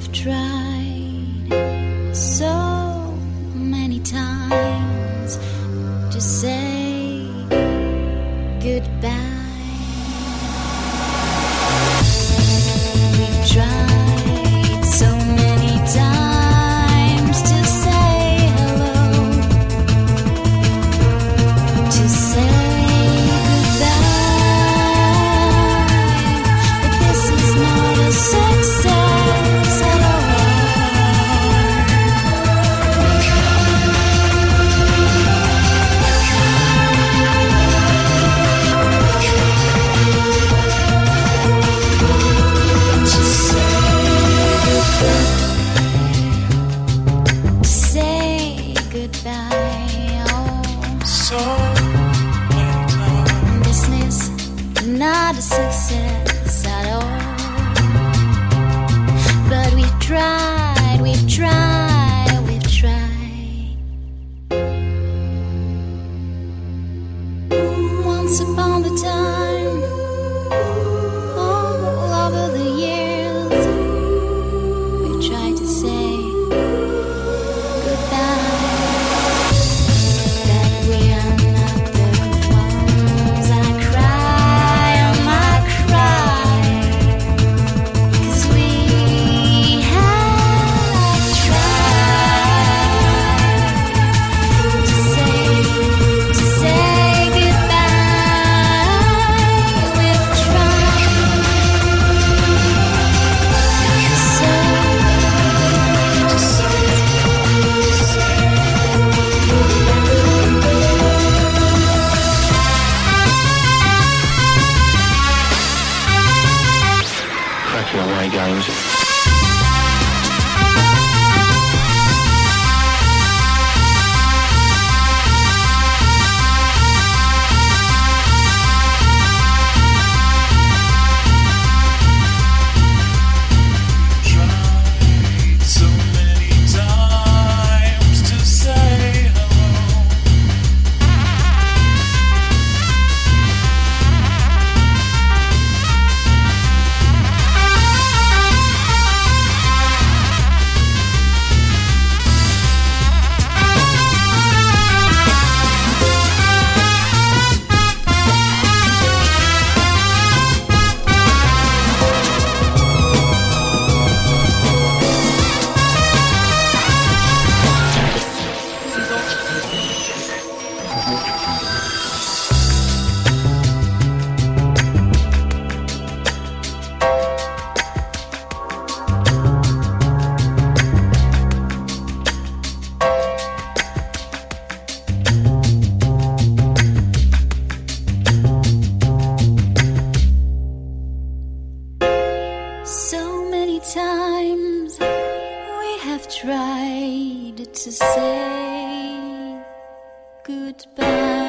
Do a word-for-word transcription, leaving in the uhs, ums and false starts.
we've tried so many times to say goodbye. We've tried so many times to say hello, to say success at all. To say goodbye, oh. So many times. This is not a success at all. But we've tried, we've tried, we've tried. Once upon a time, all over the years, we tried to say goodbye. That we are not the ones. I cry, oh, I cry. 'Cause we away games. Times we have tried to say goodbye.